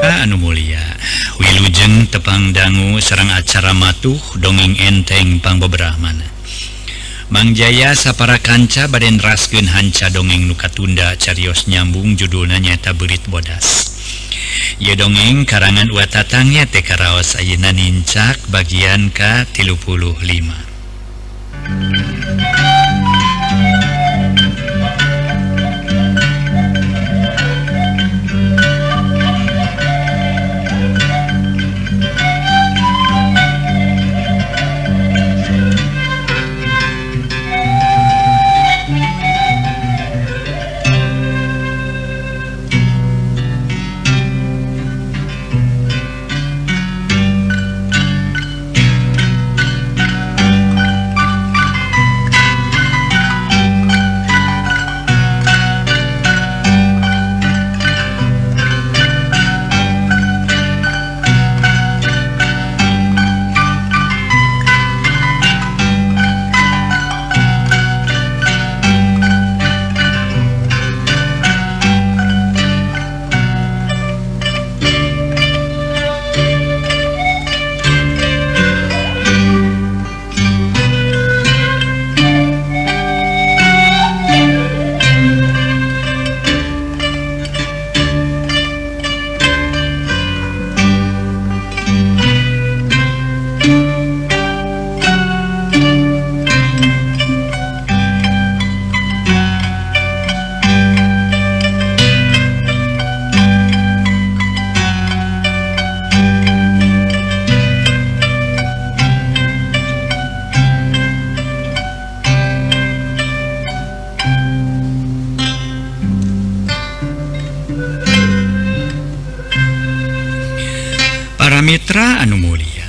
Anu Mulia Wilujeng tepang dangu serang acara matuh dongeng enteng pangbeberahmana Mangjaya sapara kanca baden raskeun hanca dongeng nuka tunda carios nyambung judulna nyaeta Beurit Bodas. Ieu dongeng karangan uat tatangnya teh karaos ayeuna nincak bagian ka-35. Mitra anu mulia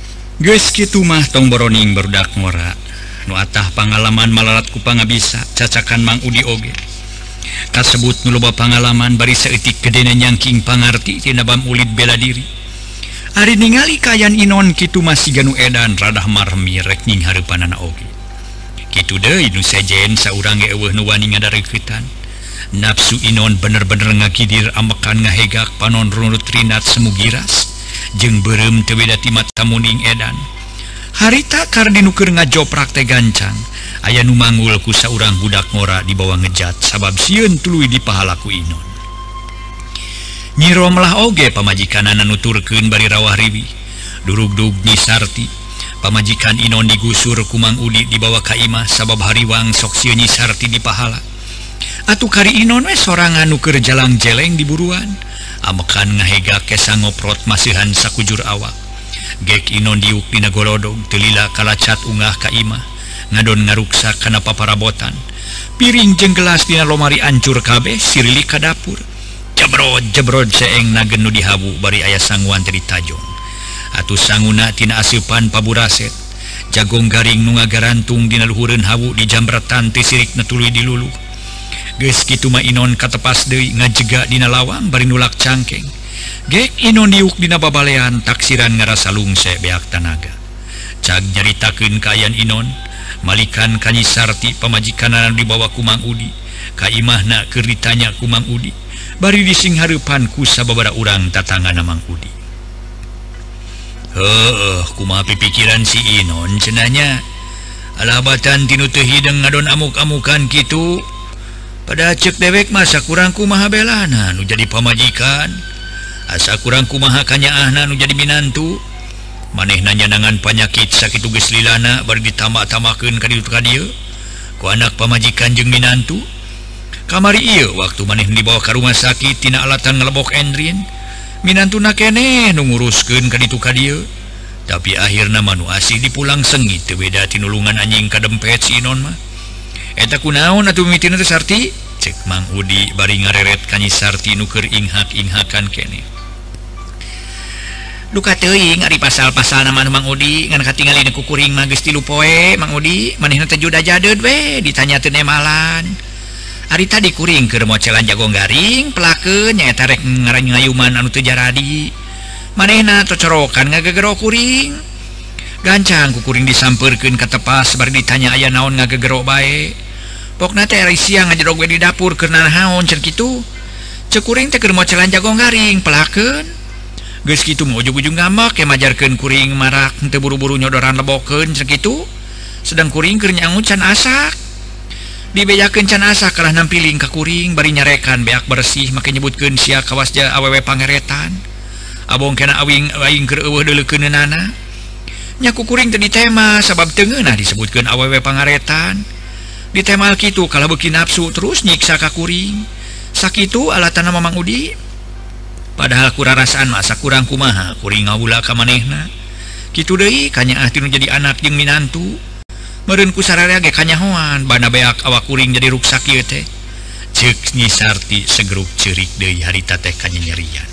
geus kitu mah tong boroning barudak ngora nu atah pangalaman malarat ku pangabisa cacakan Mang Udi oge kasebut nu loba pangalaman bari saeutik gedena nyangking pangarti tina bam ulid bela diri ari ningali kayan inon kitu masih ganu edan radah marmi rek ning hareupanana oge kitu deui nu sejen saurang ge eueuh nu wani ngadareuketan nafsu inon bener-bener ngakidir ambekan ngahegak panon runut rinat semu giras jeung beureum teu beda ti mata muning edan harita kardinu keur ngajoprak teh gancang aya nu manggul ku saurang budak ngora di bawah ngejat sabab sieun tuluy di pahalaku inon Nyi Romlah oge pamajikanana nuturkeun bari rawah riwi durug-dug Nyi Sarti pamajikan inon digusur ku Mang Udi di bawah ka imah sabab hariwang sok sieun Nyi Sarti di pahala atuh kari inon we sorangan nu keur jalang jeleng di buruan amekan ngahegak kesa ngoprot masihan sakujur awak gek inon diuk dina golodong telila kalacat ungah ka imah ngadon ngaruksak kana paparabotan piring jeung gelas dina lomari ancur kabeh sirili ka dapur jebrod seeng nagen nu dihabu bari aya sanguan teh ditajong atuh sanguna tina aseupan paburaset jagong garing nu ngagarantung dina luhureun habu di jambratan teh sirikna tuluy diluluh geus kitu mah inon katepas deui ngajega dina lawang bari nulak cangkeng gek inon diuk dina babalean taksiran ngarasa lungse beak tanaga cag nyaritakeun kaayaan inon malikan ka Nyi Sarti pamajikanana dibawa ku Mang Udi ka imahna keur ditanya ku Mang Udi bari dising hareupan ku sababaraha urang tatangana Mang Udi heuh kumaha pipikiran si inon cenanya alabatan tinu teu hideung ngadon amuk-amukan kitu pada cek dewek masa kurang kumaha belana nu jadi pamajikan asa kurang kumaha kanyaahna nu jadi minantu manehna nyanangan panyakit sakitu geus lilana bari ditambah-tambahkeun ka dieu ka dieu ku anak pamajikan jeung minantu kamari ieu waktu maneh dibawa ka rumah sakit tina alatan ngelebok endrin minantuna keneh nu nguruskeun ka ditu ka dieu tapi akhirna manu asih dipulang sengit teu beda tinulungan anjing kadempet si inon mah eta kunaon atuh mimitina teh Sarti cek Mang Udi bari ngareret ka Nyi Sarti nu keur inghak-inghakan keneh duka teuing ari pasal-pasal nama Mang Udi ngan katingali ku kuring mah geus 3 poe Mang Udi manehna teh juda jadeud we ditanya teu nemalan ari tadi kuring keur mocelan jagong garing pelakeun nyaeta rek ngayuman anu teu jaradi manehna cocorokan ngagegero kuring gancang ku kuring disampeurkeun ka tepas bari ditanya aya naon ngagegero bae pokna teh ari siang ngajedog we di dapur keur naon cenah kitu cek kuring teh keur mocelan jagong garing pelakeun geus kitu mah ujug-ujug ngambek ke majarkeun kuring marak teu buru-buru nyodoran lebokeun sakitu sedang kuring keur nyangu can asak dibejakeun can asak kalah nampiling ka kuring bari nyarekan beak bersih make nyebutkeun sia kawasja awewe pangeretan abong kena aing keur eueuh deuleukeunana nya ku kuring teu ditema sabab teu ngeunah disebutkeun awewe pangaretan ditemal kitu kala beuki nafsu terus nyiksa ka kuring sakitu alatana Mamang Udi padahal kurarasaan masa kurang kumaha kuring ngawula ka manehna kitu deui kanyaah tinu jadi anak jeung minantu meureun ku sararea ge kanyahoan bana beak awak kuring jadi ruksak ieu teh ceuk Nyi Sarti segeruk ceurik deui harita teh kanyanyerian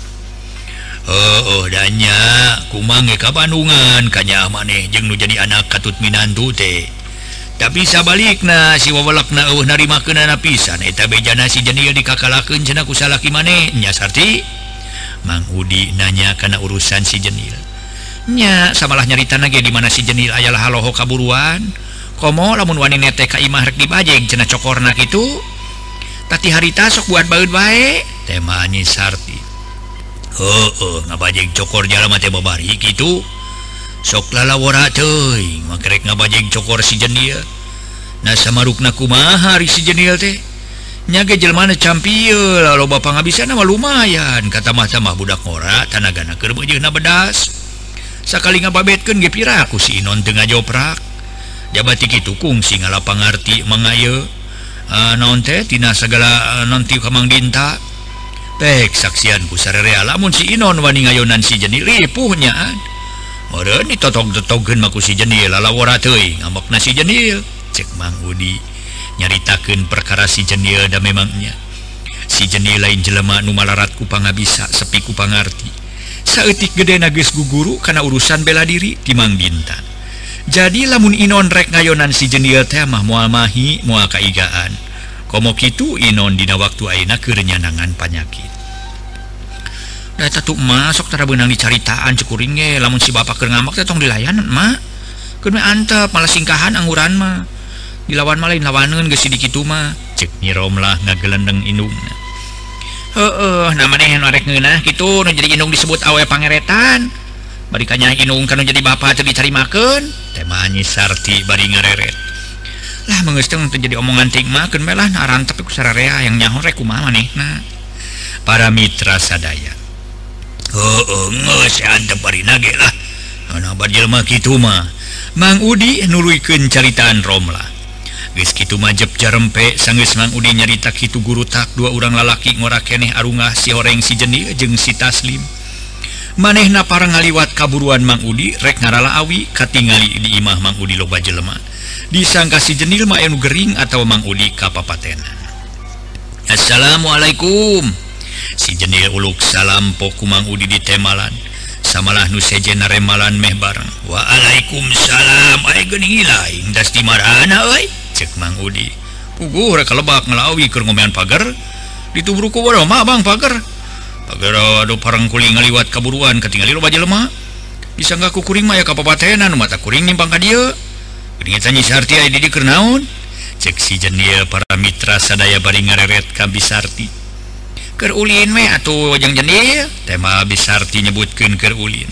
danya kumang ge ka Bandungan kanyaah maneh jeung nu jadi anak katut minantu teh tapi sabalikna si wawalakna eueuh narimakeunana pisan eta bejana si Jenil dikakalakeun cenah ku salaki maneh nya Sarti Mang Udi nanya kana urusan si Jenil nya samalah nyaritana ge di mana si Jenil aya haloho kaburuan komo lamun wani nete ka imah rek dibajeng cenah cokorna kitu tati harita sok buat baeud bae tema Nyi Sarti ngabajeng cokor jalma teh babari kitu sok lalawara teuing makrek ngabajeng cokor si Jenil nah samarukna kumaha ari si Jenil teh nya ge jelmana campieu loba pangabisana mah lumayan kata mah budak ngora tanagana keur beujeuhna bedas sakali ngababetkeun ge piraku si Inon teu ngajoprak jabati kitu kungsi ngalapangarti mangayeu naon teh tina sagala nanti ka Mang Dinta pek saksian ku sararea lamun si Inon wani ngayonan si Jenil ripuh nyaan meureun ditotog-totogkeun mah ku si Jenil lalawara teuing ngambekna si Jenil cek Mang Udi nyaritakeun perkara si Jenil da memangnya si Jenil lain jelema nu malarat ku pangabisa sepi ku pangarti saeutik gedena geus guguru kana urusan bela diri ti Mang Dinta jadi lamun Inon rek ngayonan si Jenil teh mah moal mahi moal kaigaan komo kitu Inon dina waktu ayeuna keur nyanangan panyakit da eta tuh mah sok tara beunang dicaritaan cukuring ge lamun si bapak keur ngambek teh tong dilayanan mah keur antep malah singkahan angguran mah dilawan mah lain lawaneun geus di kitu mah cek Nyi Romlah ngagelendeng indungna nah maneh nu rek ngeunah kitu nu jadi indung disebut awewe pangeretan bari kanya indung kana jadi bapak teu dicarimakeun teh mah Nyi Sarti bari ngareret lah meungeus teh jadi omongan ting mah keun melah naran tapi ku sararea yang nyaho rek kumaha manehna para mitra sadaya geus antep bari nage lah ana jelema kitu mah Mang Udi nuluykeun caritaan Romlah geus kitu mah jep jarempe sanggeus Mang Udi nyarita kitu guru tak dua urang lalaki ngora keneh arungah si Horeng si Jenil jeung si Taslim manehna parang ngaliwat kaburuan Mang Udi rek ngarala awi katingali di imah Mang Udi loba jelema disangka si Jenil mah anu gering atawa Mang Udi kapapatenan Assalamualaikum si Jenil uluk salam poku Mang Udi di temalan samalah nu sejenna remalan meh bareng waalaikumsalam aya geuning laing das di marana euy cek Mang Udi puguh rek kalebak ngalawi keur ngomean pager ditubruk ku boro mah Bang pager aduh parang kuring ngaliwat kaburuan ketinggali loba jelema disangga ku kuring mah aya kapapatenan mata kuring nimpang ka dieu geuning eta Nyi Sarti aya di dieu keur naon cek si Jenil para mitra sadaya bari ngareret ka Bisarti keur ulin we atuh jeung Jenil teh mah Bisarti nyebutkeun keur ulin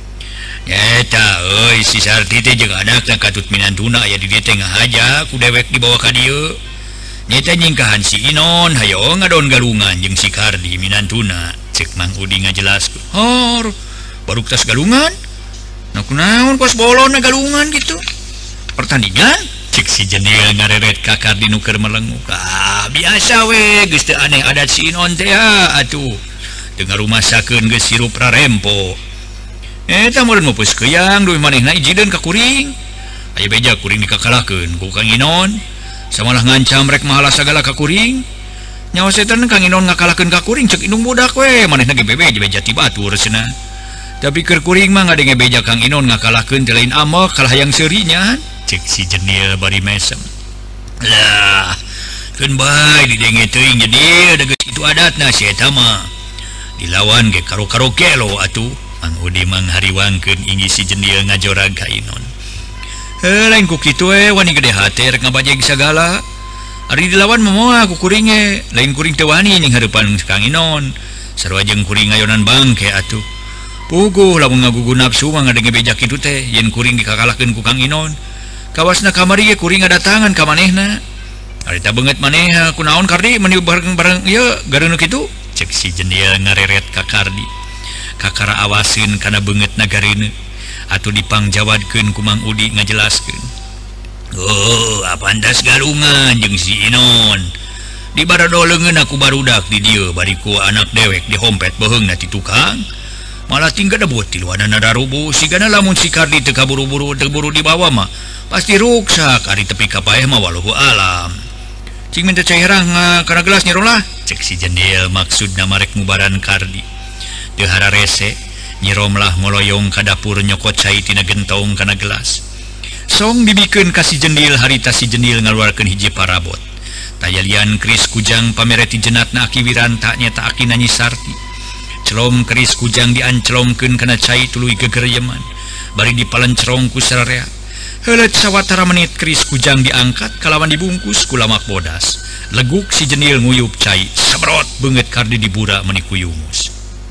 eta euy si Sarti teh jeung anakna katut minantuna aya di dieu teh ngahaja ku dewek dibawa ka dieu nyata nyingkahan si Inon hayo ngadon galungan jeung si Kardi minantuna cek Mang Udi ngajelaskeun hor baru tas galungan naon kos bolona galungan gitu pertandingan cek si Jenil ngareret ka Kardi nu keur melenguk biasa we geus teu aneh adat si Inon teh atuh teu ngarumasakeun geus sirup rarempo eta meureun meupus keuyang duwe manehna ijieun ka kuring aya beja kuring dikakalakeun ku Kang Inon samalah ngancam rek mahala sagala ka kuring nyawa setan Kang Inon ngakalakeun ka kuring cek indung budak we manehna ge bebeja jati batur cenah tapi keur kuring mah ngadenge beja Kang Inon ngakalakeun teh lain amok kalah hayang seurinya cek si Jenil bari mesem lah keun bae didenge teuing jadi ada geus kitu adatna si eta mah dilawan ge karo-karo kelo atuh Mang Udi manghariwangkeun inggi si Jenil ngajorag ka Inon lain ku kitu wani gede hate rek ngabajeg sagala ari dilawan momoa ku kuring lain kuring teu wani ning hareupan Kang Inon sarua jeung kuring ngayonan bangke atuh puguh lamun ngagugu nafsu mah ngadenge bejak kitu teh yen kuring dikakalahkeun ku Kang Inon kawasna kamari ge kuring ngadatangan ka manehna harita beungeut maneh kunaon Kardi meni bareng-bareng ieu gareuneu kitu cek si Jendil ngareret ka Kardi kakara awasin kana beungeut nagareuneu atuh dipangjawadkeun ku Mang Udi ngajelaskeun oh apandas galungan jeung si Inon di baradoleungeun aku barudak di dieu bari ku anak dewek dihompet beheungna ti tukang malah tinggal debut ti luanana darubu sigana lamun si Kardi teu kaburu-buru teu buru dibawa mah pasti ruksak ari tepi ka paeh mah wallahu alam cing minta cai herang kana gelas nyerolah cek si Jendil maksudna marek ngubaran Kardi teu hararese nyiromlah moloyong ka dapur nyokot cai tina gentong kana gelas song dibikeun ka si Jendil harita si Jendil ngaluarkeun hiji parabot tayalian keris kujang pamereti jenatna Aki Wiranta nyata Aki Nyi Sarti celom keris kujang dianclomkeun kana cai tuluy gegeryeman bari dipalencerong ku sararea heuleut sawatara menit keris kujang diangkat kalawan dibungkus ku lamak bodas leguk si Jendil nguyup cai sabrot beungeut Kardi dibura meni ku yumus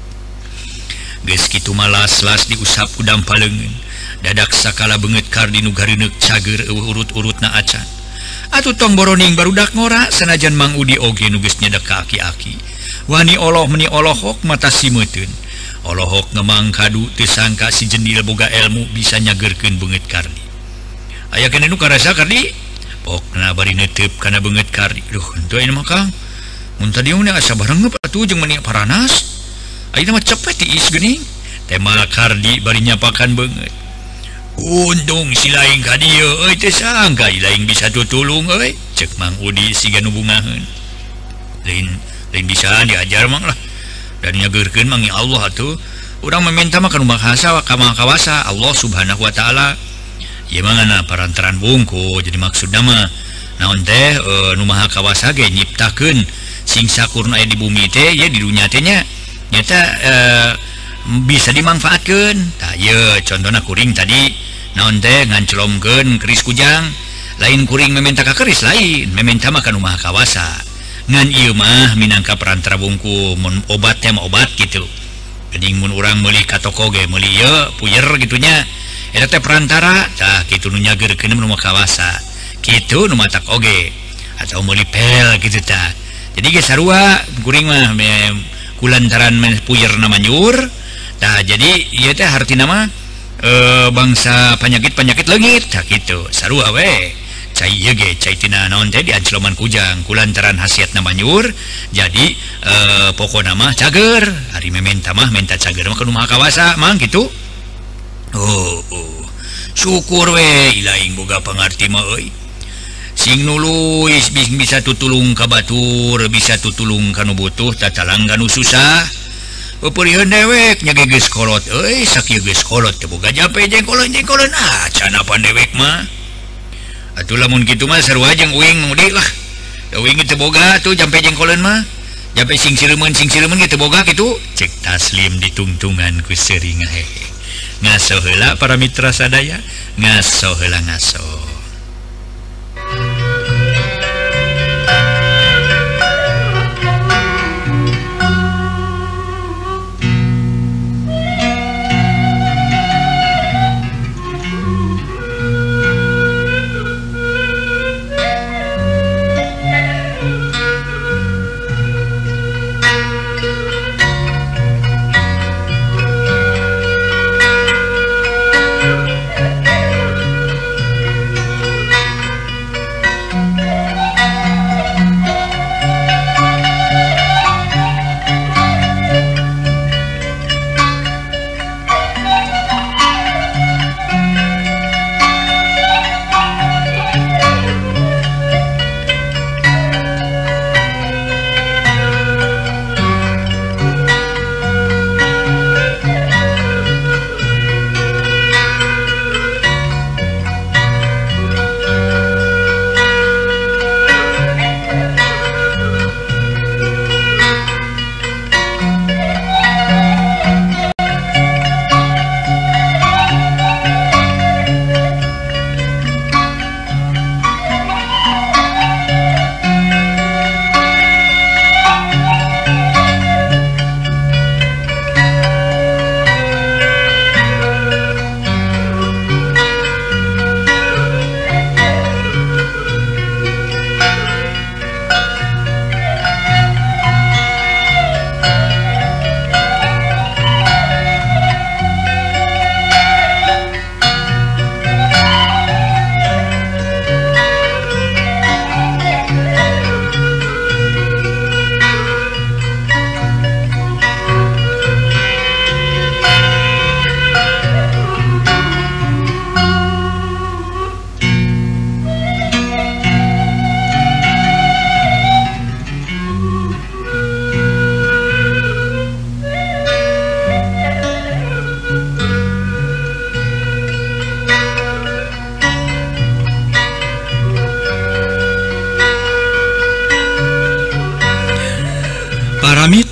geus kitu malas-las diusap ku dampaleungeun dadak sakala beungeut Kardi nu gareuneuh cager eueuh urut-urutna acan atuh tong boroning barudak ngora sanajan Mang Udi oge nu geus nyedek ka aki-aki wani oloh meni olohok mata simeuteun olohok ngemang kadu teu sangka si Jendil boga ilmu bisa nyageurkeun beungeut Kardi aya keneh nu karasa Kardi pokna bari neuteup kana beungeut Kardi duh henteu aya mah Kang mun tadi mah asa barengep atuh jeung meni paranas ayeuna mah cepet tiis geuning tema Kardi bari nyapakan beungeut untung si laing ka dieu euy teu sangka laing bisa tutulung euy cek Mang Udi siga nu bungaheun lain bisa diajar mang lah dan nyageurkeun mang ya Allah atuh urang meminta mah kana mahasa ka Maha Kawasa Allah Subhanahu wa taala ieu mangana parantaran bungku jadi maksudna mah naon teh nu Maha Kawasa ge nyiptakeun sing sakurna aya di bumi teh ya di dunya teh nya nyata bisa dimanfaatkeun tah ieu contona kuring tadi naon teh nganclomkeun keris kujang lain kuring meminta ka keris lain meminta mah ka nu Maha Kawasa ngan ieu mah minangka perantara bungku mun obat teh mah obat gitu geuning mun urang meuli ka toko ge meuli ieu puyer gitunya eta teh perantara tah kitu nu nyageurkeun nu Maha Kawasa kitu nu matak oge atau meuli pel kitu tah jadi ge sarua kuring mah kulantaran puyerna manyur tah jadi ieu teh hartina mah bangsa penyakit leungit tah kitu sarua we cai ieu ge cai tina naon teh diancloman kujang kulantaran hasiatna manyur jadi pokona mah cager ari mementa mah menta cager mah ka Maha Kawasa mang kitu oh syukur we ilaing boga pangarti mah euy sing nuluy bisa tutulung ka batur bisa tutulung ka nu butuh tatalang ka nu susah peureun dewek nya geus kolot euy sakieu geus kolot teu boga jampe jengkolon can apa dewek mah atuh lamun kitu mah sarua jeung uing Udi lah uing teu boga tuh jampe jengkoleun mah jampe sing sireumeuan teu boga kitu cek Taslim ditungtungan ku seuring hehe ngaso heula para mitra sadaya ngaso heula ngaso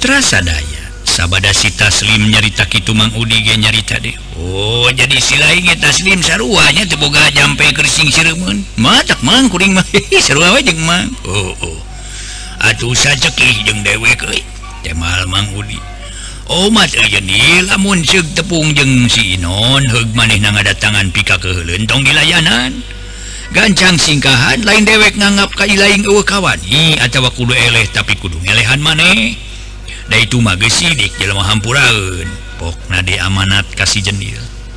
Mitra sadaya sabada si Taslim nyarita kitu Mang Udi ge nyarita deh. Oh jadi si lain ge Taslim saruanya teu boga jampe kersing sireumeun. Matak Mang kuring mah sarua we jeung Mang. Oh atuh sacekih jeung dewek euy temal Mang Udi. Oh mat euy lamun ceug tepung jeung si Inon heug manehna ngadatangan pika keheuleuh tong dilayanan. Gancang singkahan lain dewek nganggap ka ilaing eueuh kawani atawa kudu eleh tapi kudu ngelehan maneh. Da itu mah geus sidik jelema hampuraeun pokna diamanat ka si Jendil.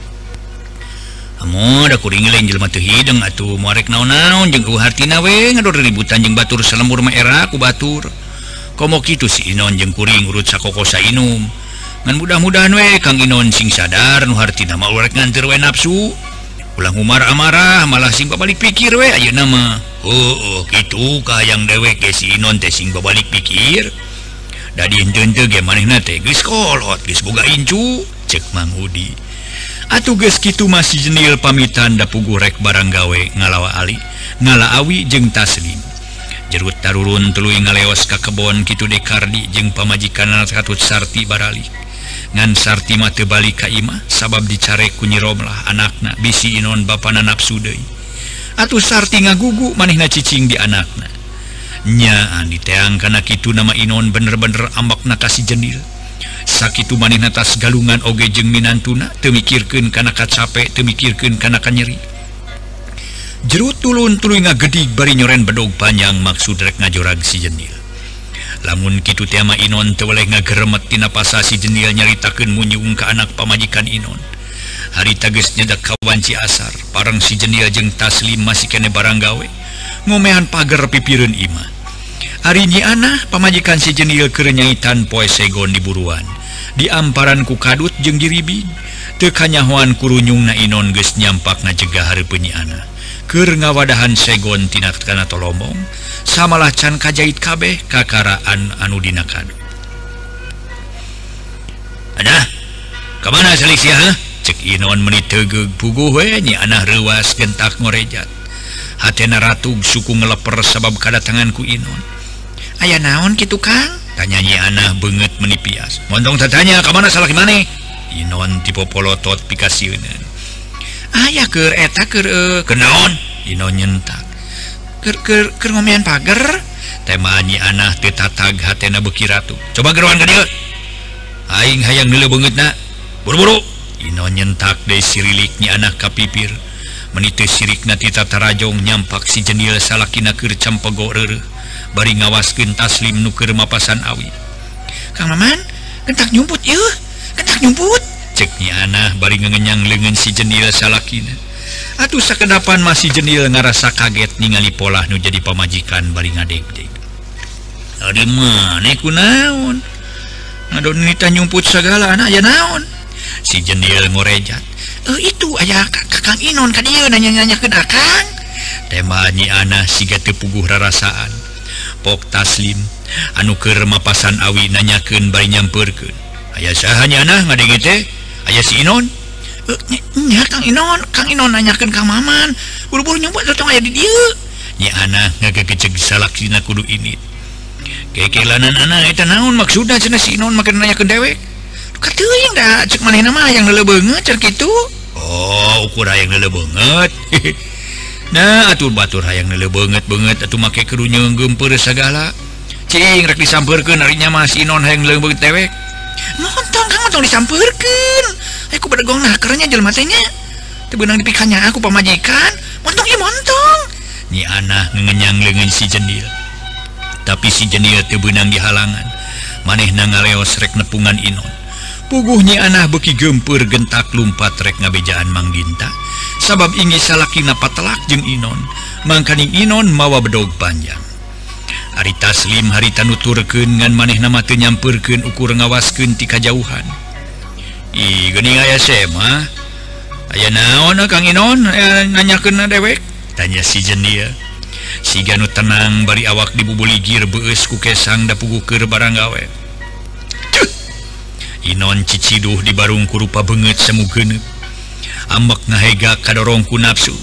Amo da kuring lain jelema teu hideung atuh moal rek naon-naon jeung eueuh hartina we ngador ributan jeung batur salembur mah era ku batur. Komo kitu si Inon jeung kuring urut sakokosa inum. Ngan mudah-mudahan we Kang Inon sing sadar nu hartina mah rek nganteur we nafsu. Ulang umar amarah malah sing babalik pikir we ayeuna mah. Kitu kahayang dewek ge si Inon teh sing babalik pikir. Da diinteun teh ge manehna teh geus kolot geus boga incu ceuk Mang Udi. Atuh geus kitu mah si Jendil pamitan da puguh rek barang gawe ngalaawi jeung Taslim. Jerut tarurun tuluy ngaleos ka kebon kitu de Kardi jeung pamajikanna katut Sarti baralik. Ngan Sarti mah teu balik ka imah sabab dicarek ku Nyi Romlah anakna bisi Inon bapana nafsu deui. Atuh Sarti ngagugu manehna cicing di anakna. Nya diteang kana kitu nama Inon bener-bener ambakna ka si Jendil. Sakitu manehna tas galungan oge jeung minantuna teu mikirkeun kana kacape teu mikirkeun kana kanyeri. Jerut tulun tuluy ngagedig bari nyoren bedog panjang maksud rek ngajorag si Jendil. Lamun kitu teh mah Inon teu weleh ngageremet tina pasa si Jendil nyaritakeun munyung ka anak pamajikan Inon. Harita geus nyedak ka wanci asar, parang si Jendil jeung Taslim masih kene barang gawe, ngomehan pager pipireun imah. Ari Nyi Anah pamajikan si Jendil keur nyaitan poe segon di buruan, diamparan ku kadut jeung diribing. Teu kanyahoan kurunyungna Inon geus nyampak ngajegah hareupeun Nyi Anah. Keur ngawadahan segon tina kana tolombong samalah can kajait kabeh kakaraan anu dina kadu. Anah kamana salik sia cek Inon meuni teugeg puguh we Nyi Anah reuwas gentak ngorejat. Hatena ratug suku ngeleper sabab kadatangan ku Inon. Aya naon kitu Kang? Tanya Nyi Anah beungeut meuni pias. Montong tatanya kamana salaki maneh? Inon dipopolotot pikasieun. Aya keur eta keur kenaon? Inon nyentak. Keur ngomean pager. Tema Nyi Anah teu tatag hatena beuki ratu. Coba geroan ka dieu. Aing hayang neuleuh beungeutna. Buru-buru. Inon nyentak deui sirilik Nyi Anah ka pipir. Meuni teu sirikna ti tatarajong nyampak si Jendil salakina keur campego reureuh. Bari ngawaskeun Taslim nu keur mapasan awi. Kang Maman, gentak nyumput ieu. Gentak nyumput. Cek Nyi Anah bari ngenyang leungeun si Jendil salakina. Atuh sakedapan masih Jendil ngarasa kaget ningali polah nu jadi pamajikan bari ngadeg-deg. Ari maneh kunaon? Ngadon nita nyumput sagala aya naon? Si Jendil ngorejat. Itu aya Kakang Inon ka dieu nanya-nanyakeun akang. Tema Nyi Anah siga teu puguh rarasaan. Pok Taslim anu keur mapasan awi nanyakeun bari nyampeurkeun. Aya saha Nyi Anah ngadenge teh? Aya si Inon? Nya Kang Inon nanyakeun Kang Maman. Buru-buru nyumput tong aya di dieu. Nyi Anah ngagegeceg salaksina kudu ini. Kekelanan Anah eta naon maksudna cenah si Inon make nanyakeun dewek? Kateuing da cek manehna mah yang leuleuh beungeut cer kitu. Oh, ukur hayang leuleuh beungeut. Nah, atuh batur hayang leuleuh beungeut atuh make kudu nyeunggeumpeur sagala. Cing rek disampeurkeun ari nya mah si Inon hayang leuleuh beungeut dewek. Montong Kang montong disampeurkeun. Aku berdegong nakernya jelema teh nya. Teu beunang dipikanya aku pamajikan. Montong ieu montong. Nyi Anah ngenyang leungeun si Jendil. Tapi si Jendil teu beunang dihalangan. Manehna ngaleos rek nepungan Inon. Puguh Nyi Anah beuki geumpeur gentak lumpat rek ngabejaan Mang Dinta. Sabab inggih salakina patelak jeung Inon. Mangkaning Inon mawa bedog panjang. Ari Taslim harita nuturkeun ngan manehna mah teu nyampeurkeun ukur ngawaskeun ti kajauhan. Ih, geuning aya mah. Aya naon Kang Inon nanyakeun dewek? Tanya si Jendil. Siga nu tenang bari awak dibubuligir beueus ku kesang da puguh keur barang gawe. Inon ciciduh di barung ku rupa beungeut semu geuneup. Ambek ngahega kadorong ku nafsu.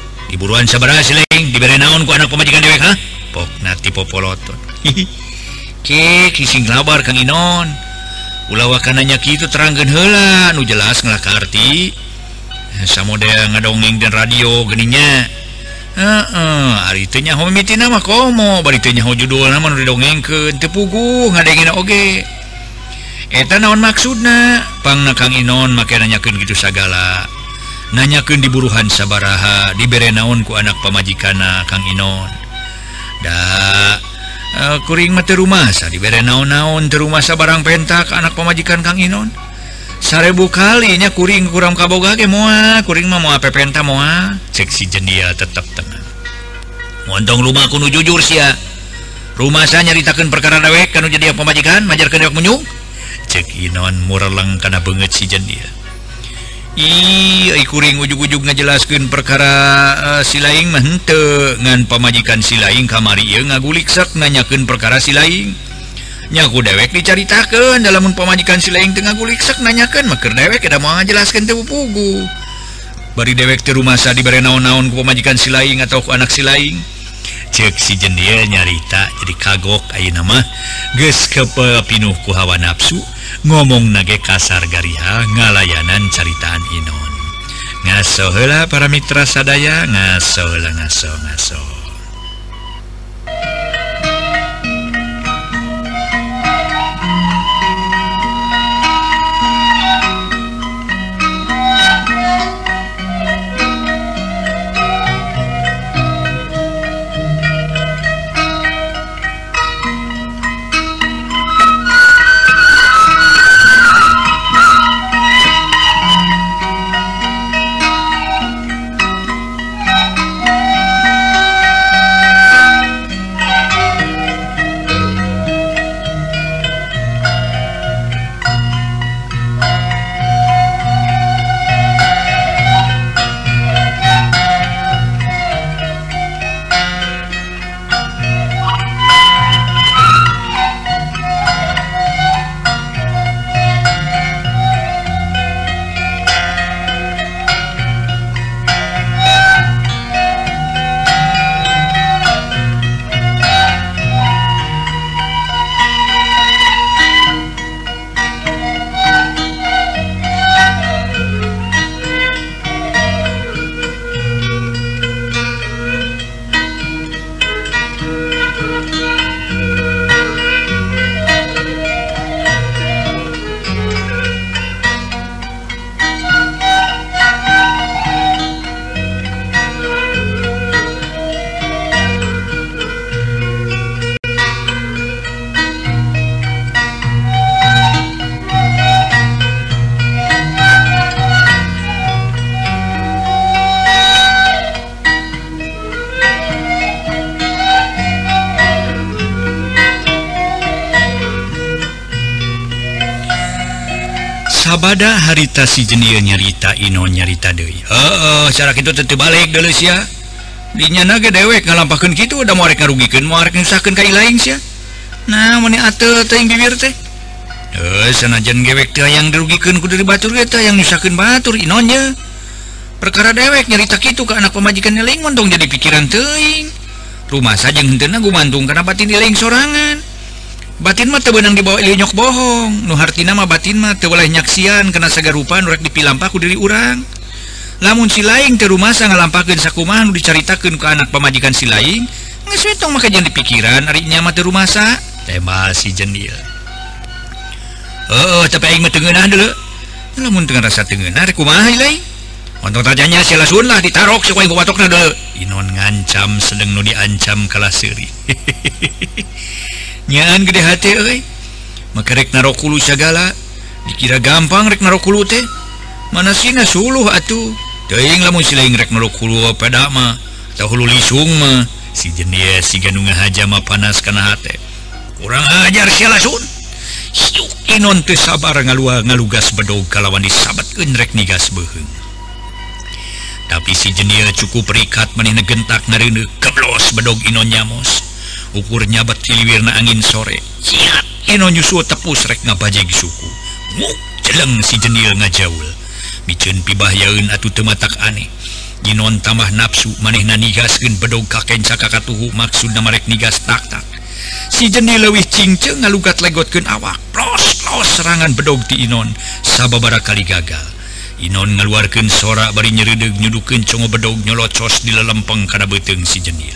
Diburuan sabaraha si Leng dibere naon ku anak pamajikan dewek ha? Pokna ti popoloton. kising labar Kang Inon ulah wakananya kitu terangkeun heula nu jelas ngelaka arti samodea ngadongeng dan radio geuninnya ari teu nyaho mimitina mah komo bari teu nyaho judulna mah nu didongengkeun teu puguh ngadengina oge eta naon maksudna pangna Kang Inon make nanyakeun kitu sagala nanyakeun diburuhan sabaraha dibere naon ku anak pamajikanna Kang Inon da kuring mah teu rumasa dibere naon-naon teu rumasa barang pentak anak pamajikan Kang Inon 1000 kalinya kuring kurang kaboga ge moal kuring mah moal pepenta moal cek si Jendia tetep tenang montong rumah kudu jujur sia rumah saya nyaritakeun perkara dewek kanu jadi pamajikan majarkeun dewek munyung cek Inon mureleng kana beungeut si Jendia kuring ujug-ujug ngajelaskeun perkara si laing mah henteu ngan pamajikan si laing kamari ieu ngagulik sak nanyakeun perkara si laing nyaku dewek dicaritakeun dalam pamajikan si laing teu ngagulik sak nanyakeun mah keur dewek da moal ngajelaskeun teu pugu bari dewek teu rumasa dibere naon-naon ku pamajikan si laing atau ku anak si laing cek si Jendia nyarita jadi kagok ayeuna mah geus kepinuh ku hawa nafsu ngomong nage kasar gariha ngalayanan caritaan Inon ngaso heula para mitra sadaya ngaso heula ngaso sabada harita si Jendia nyarita Inon nyarita deui cara kitu teu balik deuleu sia dinya ge dewek ngalampakeun kitu udah moal rek ngarugikeun moal rek nyusahkeun ka ilaing sia nah mun ateu teh bibir teh sanajan gewek teh yang dirugikeun ku dari batur ge teh yang nyusahkeun batur Inonnya perkara dewek nyarita kitu ka anak pamajikan ilaing montong jadi pikiran teuing rumah saja henteuna gumantung kana batin ilaing sorangan batin mah teu beunang dibawa nyok bohong nu hartina mah batin mah teu boleh nyaksian kana sagarupa nu rek dipilampah ku diri urang lamun si laing teu rumasa ngalampakeun sakumaha nu dicaritakeun ka anak pamajikan si laing geus we tong maka jangan dipikiran ari nya mah teu rumasa tembal si Jendia tapi aing mah teu ngeunah deuleu lamun teu ngarasa teu ngeunah rek kumaha laing montong tajanya si lasun lah ditarok si ku watokna deuleu Inon ngancam sedeng nu diancam kalah seuri nyaan gede hati euy maka rek narokulu sagala dikira gampang rek narokulu teh mana sina suluh atuh teuing lamun si laing rek narokulu pada mah tah hulu lisung mah si Jendia siga nu ngahaja mah panas kana hate kurang ajar si lasun siuk Inon teu sabar ngalugas bedog kalawan disabetkeun rek nigas beuheung tapi si Jendia cukup rikat manehna gentak ngareuneuh keblos bedog Inon nyamos ukurnya bat ciliwirna angin sore siap Inon nyusul tepus rek ngabajeg suku nguk jeleng si Jendia ngajaul miceun pibahyaeun atuh teu matak aneh Inon tambah nafsu manehna nigaskeun bedog kakenca kakatuhu maksudna marek nigas tak-tak si Jeni leuwih cingceng ngalugat legotkeun awak plos serangan bedog ti Inon sababaraha kali gagal. Inon ngaluarkeun sora bari nyereudeg nyudukeun congo bedog nyolocos di lelempeng kana beuteung si Jenil.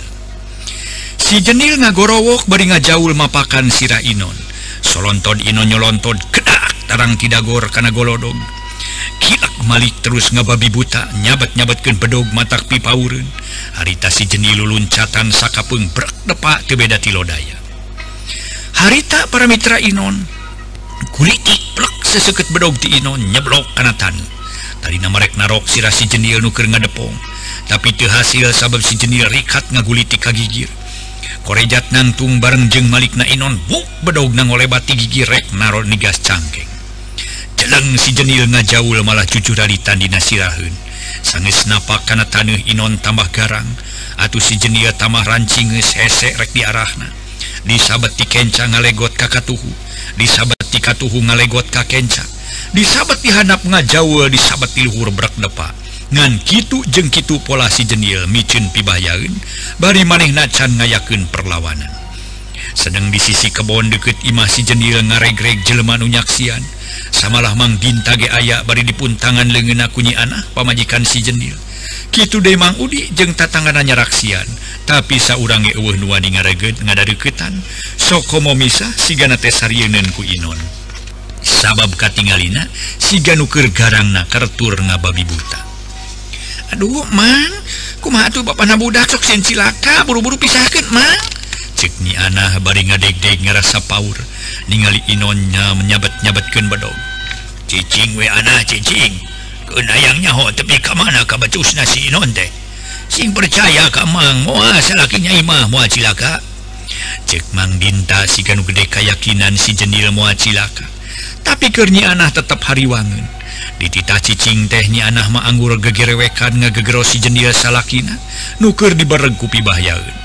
Si Jenil ngagorowok bari ngajaul mapakan sirah Inon. Solontod Inon nyolontod kedak tarang tidagor kana golodog. Kilak Malik terus ngababi buta nyabat-nyabatkeun bedog matak pipaureun. Harita si Jenil luncatan sakapeung brek depa teu beda ti lodaya. Harita para mitra Inon kulitik plek seseukeut bedog ti Inon nyeblok kana taneuh. Tarina marek narok sirah si Jenil nu keur ngadepong, tapi teu hasil sabab si Jenil rikat ngaguliti ka gigir. Korejat nangtung bareng jeung Malikna Inon buk bedog nangolebat ti gigir rek naro nigas cangkeng. Jeleng si Jenil ngajaul malah jujur alitan dina siraheun. Sanggeus napak kana taneuh Inon tambah garang, atuh si Jenil tambah rancing geus hese rek diarahna. Disabat ti kenca ngalegot ka katuhu, disabat ti katuhu ngalegot ka kenca, disabat ti handap ngajaul, disabat ti luhur brek depa. Ngan kitu jeung kitu pola si Jenil micin pibayaeun bari manehna can ngayakeun perlawanan. Sedang di sisi kebon deukeut imah si Jenil ngaregreg jelema nu nyaksian. Samalah Mang Dinta ge aya bari dipuntangan leungeunna ku Nyi Anah pamajikan si Jenil. Kitu deui Mang Udi jeung tatanganna nyaraksian, tapi saurang ge eueuh nu wani ngaregeut ngadareuketan sok komo misah sigana teh sarieun ku Inon. Sabab katingalina siga nu keur garangna kartur ngababi buta. Aduh Mang, kumaha atuh bapana budak sok sieun cilaka, buru-buru pisahkeun Mang. Cek Nyi Anah bari ngadeg-deg ngarasa paur ningali Inonnya menyabat-nyabatkeun bedog. Cicing we Anah cicing, keun hayang nyaho tepi ka mana ka batusna si Inon teh. Sing percaya ka Mang moal salaki Nyai mah moal cilaka. Cek Mang Dinta siga nu gede kayakinan si Jenil moal cilaka. Tapi keur Nyi Anah tetep hariwangeun. Di titah cicing teh Nyi Anah mah anggur gegerewekan ngagegero si Jenil salakina nu keur dibareg ku pibahyaeun.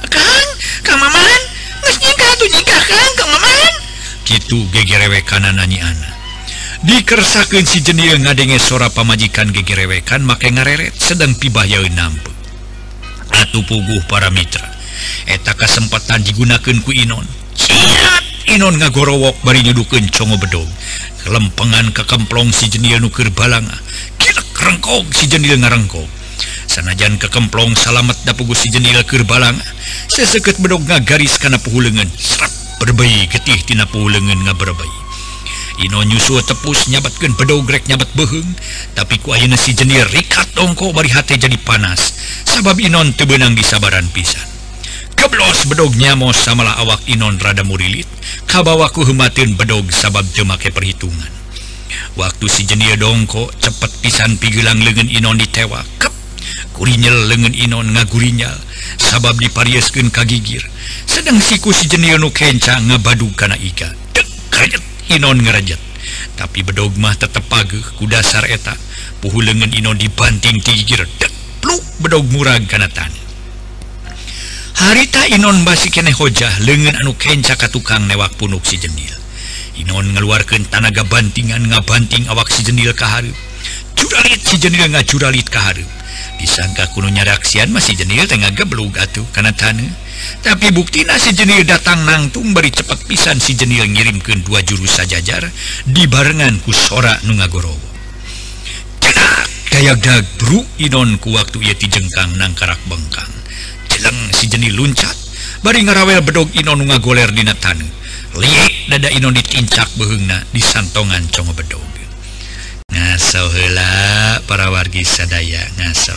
Kang Maman, geus nyingkah atuh nyingkah Kang Maman. Kitu gegerewekanana Nyi Anah. Dikersakeun si Jenil ngadenge sora pamajikan gegerewekan make ngareret sedang pibahyaeun nampeuk. Atuh puguh para mitra, eta kasempatan digunakeun ku Inon. Siap Inon ngagorowok bari nyudukeun congo bedog. Kelempengan ke kemplong si Jenil nu keur balanga. Kilek rengkog si Jenil ngarengkog. Sanajan ke kemplong salamet da puguh si Jenil keur balanga, seseukeut bedog ngagaris kana puhuleungeun. Srep berbei getih tina puhuleungeun ngaberbei. Inon nyusul tepus nyabatkeun bedog rek nyabat beheung, tapi ku ayeuna si Jenil rikat dongko bari hate jadi panas sabab Inon teu beunang disabaran pisan. Geblos bedog nyamos samalah awak Inon rada murilit kabawa ku heumateun bedog sabab teu make perhitungan. Waktu si Jenil dongko cepet pisan pigeulang leungeun Inon ditewak. Kep kurinyel leungeun Inon ngagurinyal sabab diparieuskeun ka gigir. Sedang siku si Jenil nu kenca ngabadug kana iga. Dek karejet Inon ngarajet. Tapi bedog mah tetep pageuh ku dasar eta. Puhu leungeun Inon dibanting ti gigir. Dek pluk bedog murag kana taneuh. Harita Inon basi keneh hojah leungeun anu kenca ka tukang newak punuk si Jenil. Inon ngaluarkeun tanaga bantingan ngabanting awak si Jenil ka hareup. Juralit si Jenil ngajuralit ka hareup. Disangka kuno nyaraksian masih Jenil teh ngageblug atuh kana taneuh. Tapi buktina si Jenil datang nangtung bari cepet pisan si Jenil ngirimkeun 2 jurus sajajar dibarengan ku sora nu ngagorowo. Cedak dayagdag bru Inon ku waktu ieu tijengkang nang karak bengkang. Jeleng si Jenil luncat bari ngarawel bedog Inon nu ngagoler dina taneuh. Liek dada Inon ditincak beheungna di santongan congo bedog. Ngaso heula para wargi sadaya, ngaso.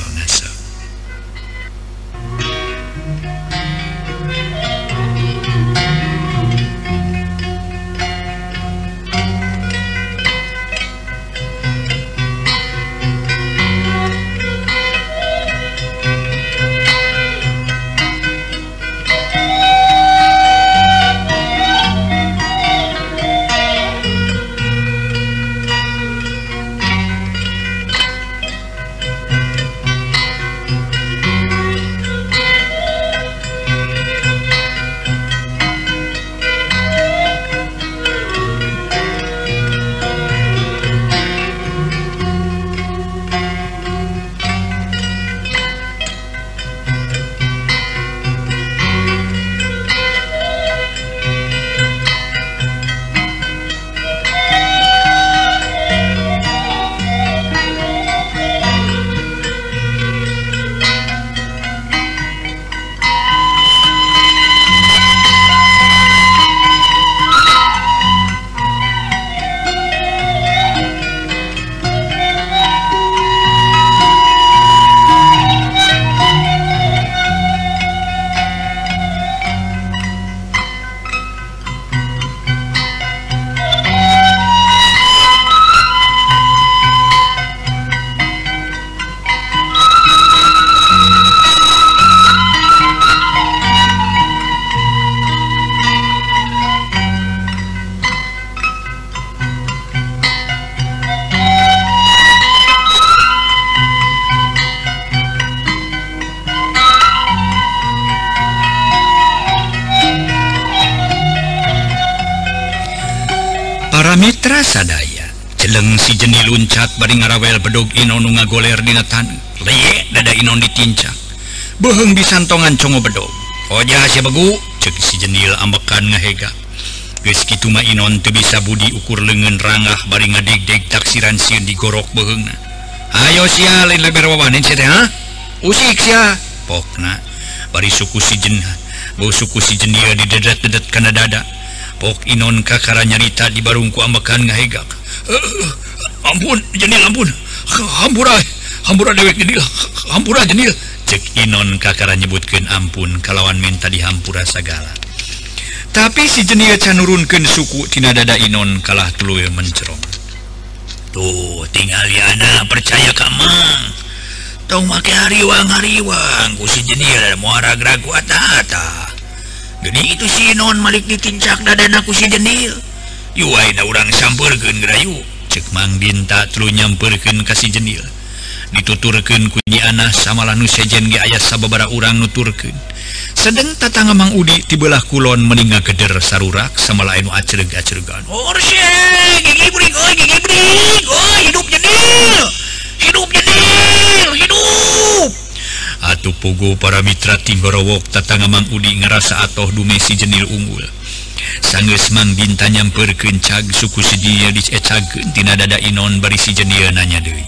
Para mitra sadaya celeng si Jeni luncat bari ngarawel bedog Inon nu ngagoler dina taneuh. Leye dada Inon ditincak. Beheung disantongan congo bedog. Oja sia begu ceuk si Jenil ambekan ngahega. Geus kitu mah Inon teu bisa budi ukur leungeun rangah bari ngadeg-deg taksiran sieun digorok beheungna. Ayo sia lain leber wawanen sia teh ha? Usik sia pokna bari suku si Jenah. Bau suku si Jenil didedet-dedet kana dada. Pok Inon kakara nyarita di barungku ambekan ngahegak. Ampun Jenil ampun. Hampura dewek Jenil. Hampura Jenil. Cek Inon kakara nyebutkeun ampun kalawan minta dihampura sagala. Tapi si Jenil can nurunkeun suku tina dada Inon kalah tuluy mencerong. Tuh tinggal yana percaya ka Mang. Tong make hariwang ku si Jenil moal ragu ata-ata. Geni itu si Inon malik ditincak dadana ku si Jenil. Yuai da urang sampeurkeun gerayu. Cek Mang Dinta tuluy nyampeurkeun ka si Jenil. Dituturkeun ku Nyi Anah samalah nu sejen ge aya sababaraha urang nuturkeun. Sedeng tatangga Mang Udi ti beulah kulon meninggal geder sarurak samala anu acereg-aceregan. Orse gigi bring hidup Jenil. Hidup Jenil, hidup. Atuh pugu para mitra Tigorowok tatangga Mang Udi ngarasa atoh dume si Jenil unggul. Sanggeus Mang Dinta nyampeurkeun cag suku si dia dicecageun tina dada Inon bari si Jenil nanya deui.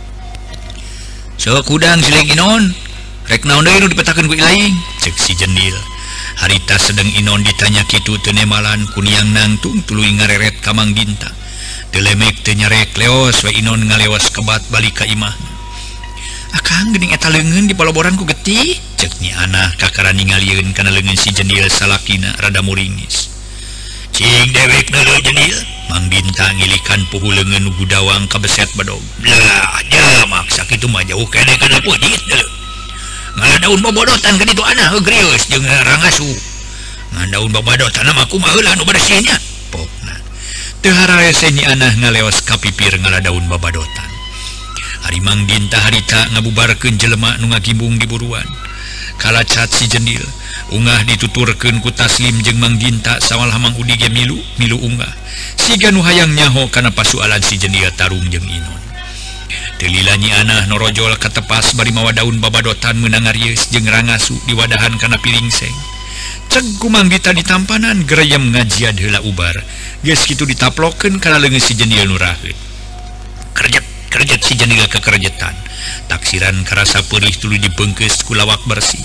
Sok udang sileng Inon, rek naon deui nu dipetakeun ku ilaing? Cek si Jenil. Harita sedeng Inon ditanya kitu teu nemalan ku niang nangtung tuluy ngareret ka Mang Dinta. Teu lemek teu nyarek leos we Inon ngaleos kebat balik ka imahna. Akang geuning eta leungeun di paloboran ku getih, cek Nyi Anah kakara ningalieun kana leungeun si Jenil salakina rada muringis. Cing dewek neuleuh Jenil, Mang Dinta ngilikan puhu leungeun nu gudawang ka beset bedog. Lah, jamak sakitu mah jauh kene kana peujit deuleu. Ngadaun bobodotan ka ditu Anah geurieus jeung rangasu. Ngadaun bobodotan mah kumaha heula nu bersihnya? Pokna. Teu hararese Nyi Anah ngaleos ka pipir ngaladaun bobodotan. Ari Mang Dinta harita ngabubarkeun jelema nu ngagimbung di buruan. Kalacat si Jenil ungah dituturkeun ku Taslim jeung Mang Dinta sawalah Mang Udi ge milu ungah. Siga nu hayang nyaho kana pasualan si Jenil tarung jeung Inon. Teu lila Nyi Anah norojol ka tepas bari mawa daun babadotan meunang arieus jeung rangasu diwadahan kana pilingseng. Ceg ku Mang Dinta ditampanan gereyem ngajiad heula ubar. Geus kitu ditaplokeun kana leungeun si Jenil nu raheut. Kerjet si Jenil kekerjetan. Taksiran karasa perih tuluy dibeungkeus ku lawak bersih.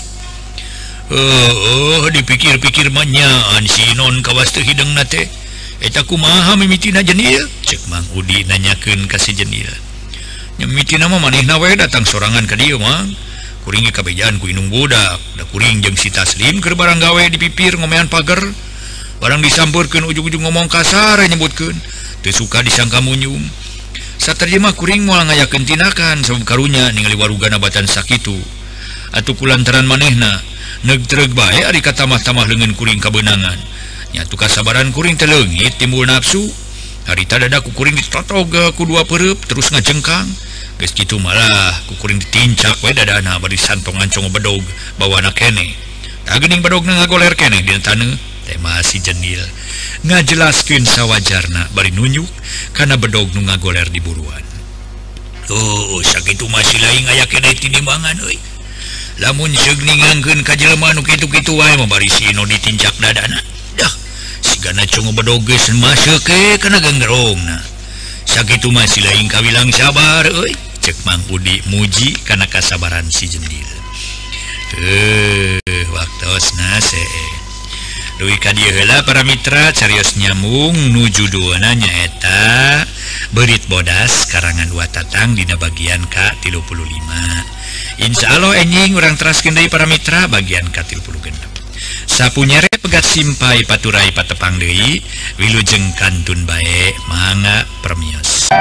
Dipikir-pikir mah nyaan si Inon kawas teu hideungna teh. Eta kumaha mimitina Jenil? Cek Mang Udi nanyakeun ka si Jenil. Nya mimitina mah manehna we datang sorangan ka dieu Mang. Kuring ge kabejaan ku inung budak. Da kuring jeung si Taslim keur barang gawe di pipir ngomean pager. Barang disampeurkeun ujug-ujug ngomong kasar nyebutkeun. Teu suka disangka munyung. Saterjemah kuring moal ngayakeun tindakan sabab karunya ningali warugana batan sakitu. Atuh kulantaran manehna neug-treug bae ari katamah-tamah leungeun kuring kabeunangan. Nya atuh kasabaran kuring teh leungit timbul nafsu. Harita dada ku kuring ditotoga ku dua pereup terus ngajengkang. Geus kitu malah ku kuring ditincak we dadana bari santongan congo bedog bawana keneh. Tah geuning bedogna ngagoler keneh dina taneuh. Tema si Jenil ngajelaskeun sawajarna bari nunjuk kana bedog nu ngagoler di buruan. Tuh sakitu masih lain aya keneh tinimbangan euy. Lamun seug ningangkeun ka jelema nu kitu-kitu wae mah bari si Ino ditincak dadana. Dah sigana congo bedog geus maseuh ke kana ganggerongna. Sakitu masih lain kawilang sabar euy. Cek Mang Udi muji kana kasabaran si Jenil. Waktosna see. Duwi ka dieu heula para mitra carios nyambung nuju duana nyaeta Beurit Bodas karangan Watatang dina bagian ka-35. Insyaallah enjing urang teraskeun deui para mitra bagian ka-36. Sapunyere pegat simpai paturai patepang deui wilujeng kantun bae mangga permios.